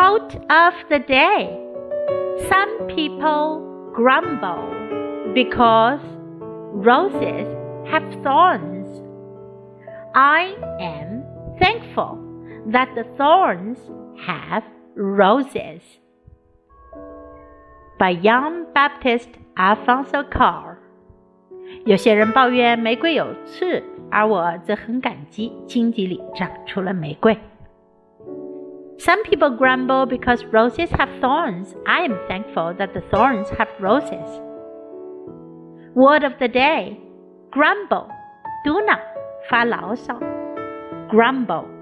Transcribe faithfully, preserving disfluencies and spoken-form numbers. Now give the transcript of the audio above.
Quote of the day. Some people grumble because roses have thorns. I am thankful that the thorns have roses. By Young Baptist Alfonso Carr. 有些人抱怨玫瑰有刺，而我则很感激荆棘里长出了玫瑰。Some people grumble because roses have thorns. I am thankful that the thorns have roses. Word of the day. Grumble. 嘟囔，发牢骚。Grumble.